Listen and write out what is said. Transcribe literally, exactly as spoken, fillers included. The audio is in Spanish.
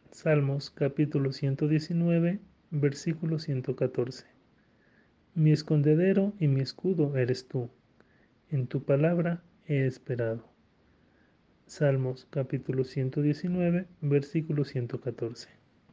Salmos capítulo ciento diecinueve, versículo ciento catorce. Mi escondedero y mi escudo eres tú, en tu palabra he esperado. Salmos capítulo ciento diecinueve, versículo ciento catorce.